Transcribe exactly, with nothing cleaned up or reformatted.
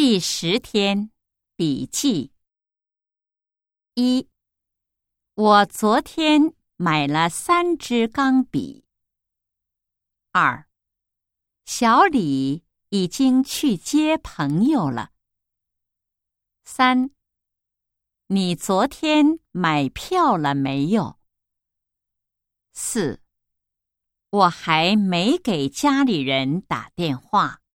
第十天笔记。一，我昨天买了三支钢笔。二，小李已经去接朋友了。三，你昨天买票了没有？四，我还没给家里人打电话。